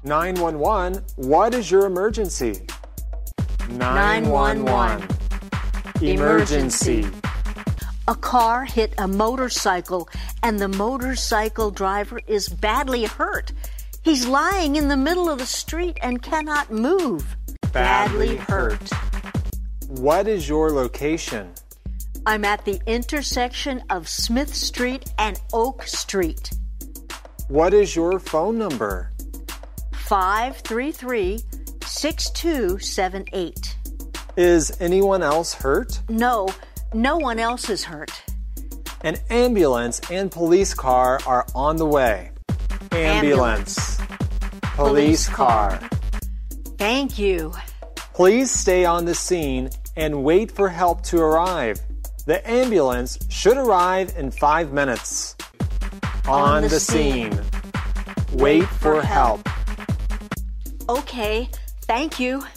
911, what is your emergency? 911. Emergency. A car hit a motorcycle and the motorcycle driver is badly hurt. He's lying in the middle of the street and cannot move. Badly hurt. What is your location? I'm at the intersection of Smith Street and Oak Street. What is your phone number? 533-6278. Is anyone else hurt? No one else is hurt. An ambulance and police car are on the way. Ambulance. Police car. Thank you. Please stay on the scene and wait for help to arrive. The ambulance should arrive in 5 minutes. On the scene. Wait for help. Okay, thank you.